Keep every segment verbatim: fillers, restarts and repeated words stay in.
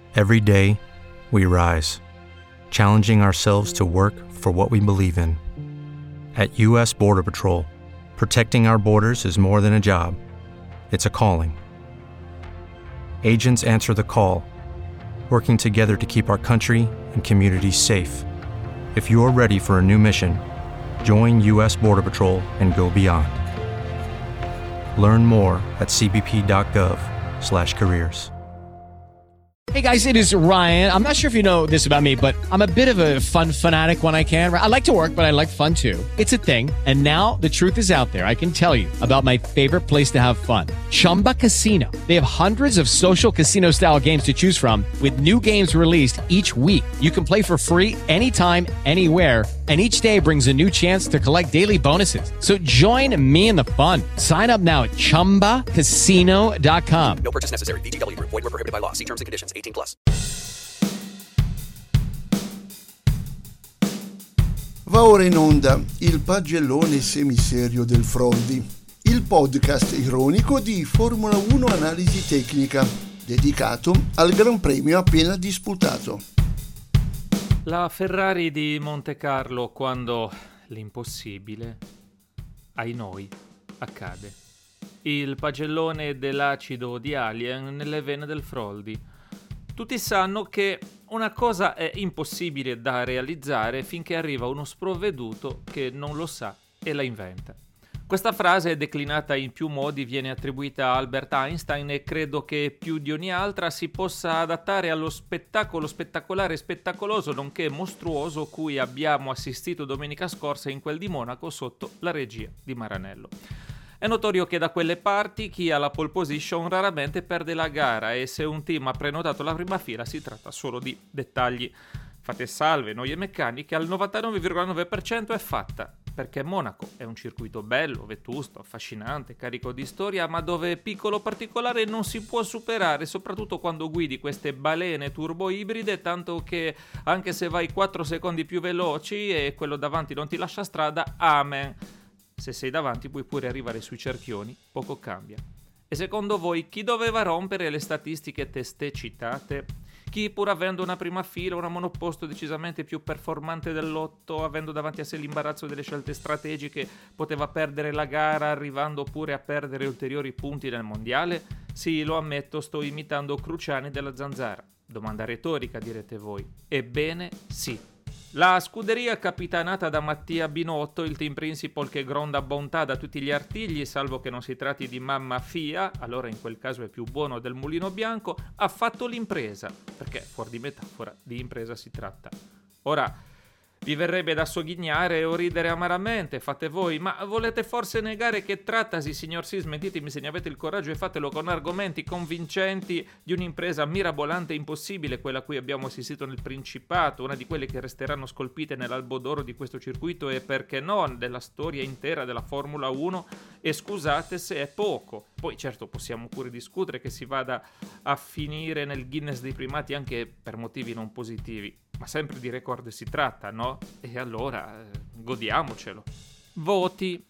Every day, we rise, challenging ourselves to work for what we believe in. At U S Border Patrol, protecting our borders is more than a job. It's a calling. Agents answer the call, working together to keep our country and communities safe. If you are ready for a new mission, join U S Border Patrol and go beyond. Learn more at c b p dot gov slash careers. Hey guys, it is Ryan. I'm not sure if you know this about me, but I'm a bit of a fun fanatic when I can. I like to work, but I like fun too. It's a thing. And now the truth is out there. I can tell you about my favorite place to have fun. Chumba Casino. They have hundreds of social casino style games to choose from with new games released each week. You can play for free anytime, anywhere. And each day brings a new chance to collect daily bonuses. So join me in the fun. Sign up now at chumba casino dot com. No purchase necessary. V G W Group. Void where prohibited by law. See terms and conditions. eighteen plus. Va ora in onda il pagellone semiserio del Froldi, il podcast ironico di Formula uno Analisi Tecnica, dedicato al Gran Premio appena disputato. La Ferrari di Montecarlo quando l'impossibile, ai noi, accade. Il pagellone dell'acido di Alien nelle vene del Froldi. Tutti sanno che una cosa è impossibile da realizzare finché arriva uno sprovveduto che non lo sa e la inventa. Questa frase, declinata in più modi, viene attribuita a Albert Einstein e credo che più di ogni altra si possa adattare allo spettacolo spettacolare e spettacoloso nonché mostruoso cui abbiamo assistito domenica scorsa in quel di Monaco sotto la regia di Maranello. È notorio che da quelle parti chi ha la pole position raramente perde la gara e se un team ha prenotato la prima fila si tratta solo di dettagli. Fate salve, noie meccaniche, al novantanove virgola nove per cento è fatta, perché Monaco è un circuito bello, vetusto, affascinante, carico di storia, ma dove piccolo particolare non si può superare, soprattutto quando guidi queste balene turbo ibride, tanto che anche se vai quattro secondi più veloci e quello davanti non ti lascia strada, amen. Se sei davanti puoi pure arrivare sui cerchioni, poco cambia. E secondo voi chi doveva rompere le statistiche testé citate? Chi, pur avendo una prima fila, una monoposto decisamente più performante dell'otto, avendo davanti a sé l'imbarazzo delle scelte strategiche, poteva perdere la gara arrivando pure a perdere ulteriori punti nel mondiale? Sì, lo ammetto, sto imitando Cruciani della Zanzara. Domanda retorica, direte voi. Ebbene, sì. La scuderia capitanata da Mattia Binotto, il team principal che gronda bontà da tutti gli artigli, salvo che non si tratti di mamma Fia, allora in quel caso è più buono del mulino bianco, ha fatto l'impresa, perché fuori di metafora di impresa si tratta. Ora, vi verrebbe da sogghignare o ridere amaramente, fate voi, ma volete forse negare che trattasi, signor Sì, smentitemi se ne avete il coraggio e fatelo con argomenti convincenti di un'impresa mirabolante e impossibile, quella a cui abbiamo assistito nel Principato, una di quelle che resteranno scolpite nell'albo d'oro di questo circuito e perché no, della storia intera della Formula uno, e scusate se è poco. Poi certo possiamo pure discutere che si vada a finire nel Guinness dei primati anche per motivi non positivi, ma sempre di record si tratta, no? E allora eh, godiamocelo. Voti.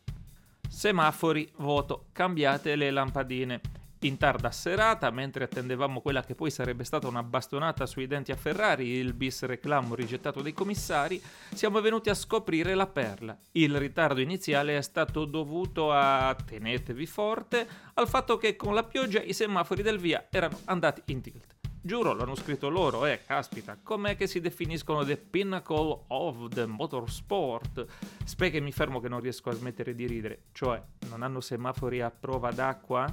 Semafori, voto. Cambiate le lampadine. In tarda serata, mentre attendevamo quella che poi sarebbe stata una bastonata sui denti a Ferrari, il bis reclamo rigettato dai commissari, siamo venuti a scoprire la perla. Il ritardo iniziale è stato dovuto a, tenetevi forte, al fatto che con la pioggia i semafori del via erano andati in tilt. Giuro, l'hanno scritto loro, eh, caspita, com'è che si definiscono the pinnacle of the motorsport? Spero che mi fermo che non riesco a smettere di ridere, cioè, non hanno semafori a prova d'acqua?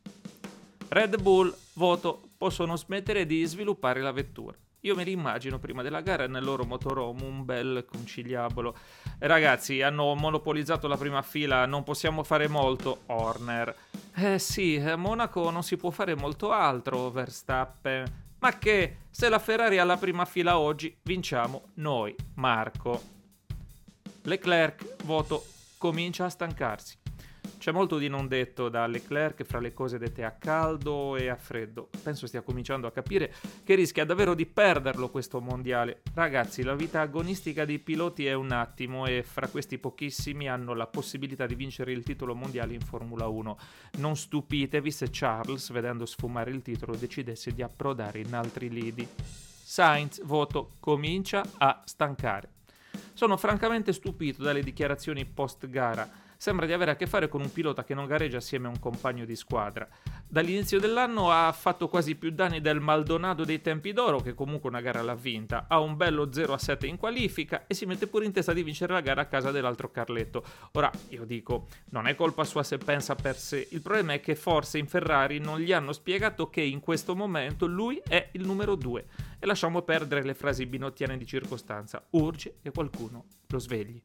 Red Bull, voto, possono smettere di sviluppare la vettura. Io me li immagino prima della gara nel loro motorhome, un bel conciliabolo. Eh, ragazzi, hanno monopolizzato la prima fila, non possiamo fare molto, Horner. Eh sì, a Monaco non si può fare molto altro, Verstappen. Ma che, se la Ferrari ha la prima fila oggi, vinciamo noi, Marco. Leclerc, voto, comincia a stancarsi. C'è molto di non detto da Leclerc fra le cose dette a caldo e a freddo. Penso stia cominciando a capire che rischia davvero di perderlo questo mondiale. Ragazzi, la vita agonistica dei piloti è un attimo e fra questi pochissimi hanno la possibilità di vincere il titolo mondiale in Formula uno. Non stupitevi se Charles, vedendo sfumare il titolo, decidesse di approdare in altri lidi. Sainz, voto, comincia a stancare. Sono francamente stupito dalle dichiarazioni post-gara. Sembra di avere a che fare con un pilota che non gareggia assieme a un compagno di squadra. Dall'inizio dell'anno ha fatto quasi più danni del Maldonado dei tempi d'oro, che comunque una gara l'ha vinta, ha un bello zero a sette in qualifica e si mette pure in testa di vincere la gara a casa dell'altro Carletto. Ora, io dico, non è colpa sua se pensa per sé, il problema è che forse in Ferrari non gli hanno spiegato che in questo momento lui è il numero due. E lasciamo perdere le frasi binottiane di circostanza, urge che qualcuno lo svegli.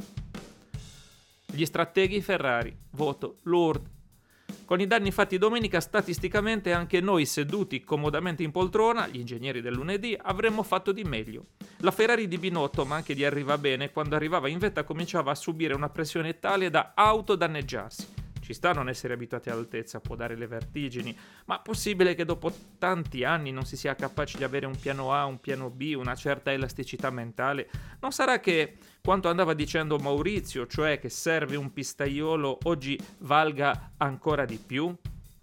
Gli strateghi Ferrari, voto Lourdes. Con i danni fatti domenica, statisticamente anche noi seduti comodamente in poltrona, gli ingegneri del lunedì, avremmo fatto di meglio. La Ferrari di Binotto, ma anche di Arrivabene, quando arrivava in vetta cominciava a subire una pressione tale da autodanneggiarsi. Ci sta a non essere abituati all'altezza, può dare le vertigini, ma possibile che dopo tanti anni non si sia capaci di avere un piano A, un piano B, una certa elasticità mentale? Non sarà che quanto andava dicendo Maurizio, cioè che serve un pistaiolo, oggi valga ancora di più?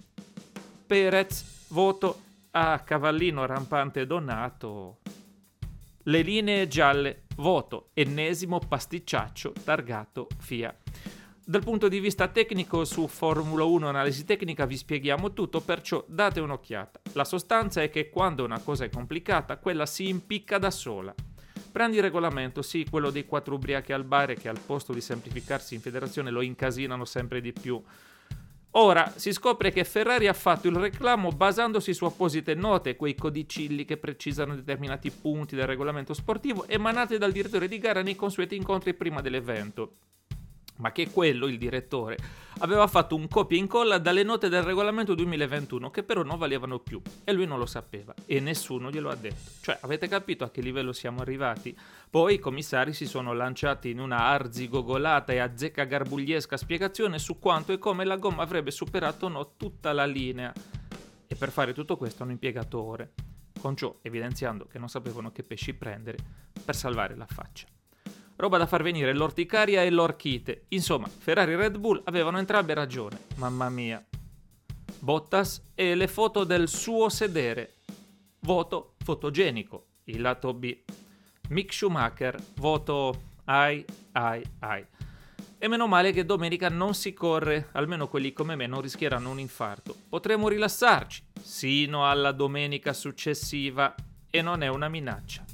Perez, voto a cavallino rampante donato. Le linee gialle, voto ennesimo pasticciaccio targato F I A. Dal punto di vista tecnico su Formula uno Analisi Tecnica vi spieghiamo tutto, perciò date un'occhiata. La sostanza è che quando una cosa è complicata, quella si impicca da sola. Prendi il regolamento, sì, quello dei quattro ubriachi al bar che al posto di semplificarsi in federazione lo incasinano sempre di più. Ora si scopre che Ferrari ha fatto il reclamo basandosi su apposite note, quei codicilli che precisano determinati punti del regolamento sportivo emanate dal direttore di gara nei consueti incontri prima dell'evento. Ma che quello, il direttore, aveva fatto un copia e incolla dalle note del regolamento duemilaventuno che però non valevano più e lui non lo sapeva e nessuno glielo ha detto. Cioè, avete capito a che livello siamo arrivati? Poi i commissari si sono lanciati in una arzigogolata e azzeccagarbugliesca spiegazione su quanto e come la gomma avrebbe superato no tutta la linea. E per fare tutto questo hanno impiegato ore, con ciò evidenziando che non sapevano che pesci prendere per salvare la faccia. Roba da far venire l'orticaria e l'orchite. Insomma, Ferrari e Red Bull avevano entrambe ragione. Mamma mia. Bottas e le foto del suo sedere. Voto fotogenico, il lato B. Mick Schumacher, voto ai ai ai. E meno male che domenica non si corre, almeno quelli come me non rischieranno un infarto. Potremo rilassarci, sino alla domenica successiva, e non è una minaccia.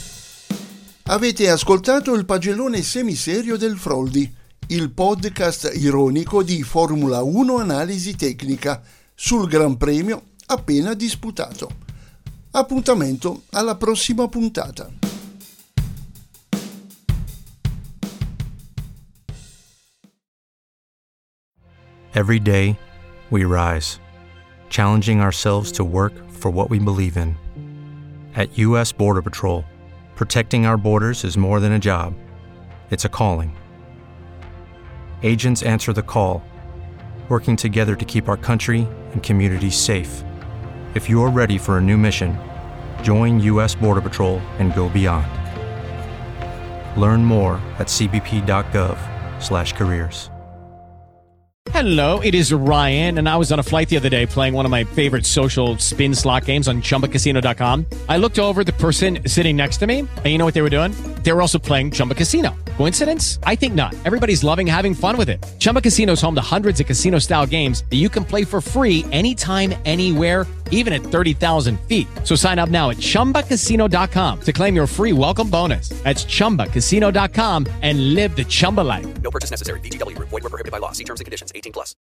Avete ascoltato il pagellone semiserio del Froldi, il podcast ironico di Formula uno Analisi Tecnica sul Gran Premio appena disputato. Appuntamento alla prossima puntata. Every day, we rise, challenging ourselves to work for what we believe in. At U S Border Patrol, protecting our borders is more than a job, it's a calling. Agents answer the call, working together to keep our country and communities safe. If you're ready for a new mission, join U S Border Patrol and go beyond. Learn more at c b p dot gov slash careers. Hello, it is Ryan, and I was on a flight the other day playing one of my favorite social spin slot games on chumba casino dot com. I looked over at the person sitting next to me, and you know what they were doing? They were also playing Chumba Casino. Coincidence? I think not. Everybody's loving having fun with it. Chumba Casino is home to hundreds of casino-style games that you can play for free anytime, anywhere, even at thirty thousand feet. So sign up now at chumba casino dot com to claim your free welcome bonus. That's chumba casino dot com and live the Chumba life. No purchase necessary. V G W. Void where prohibited by law. See terms and conditions. eighteen plus.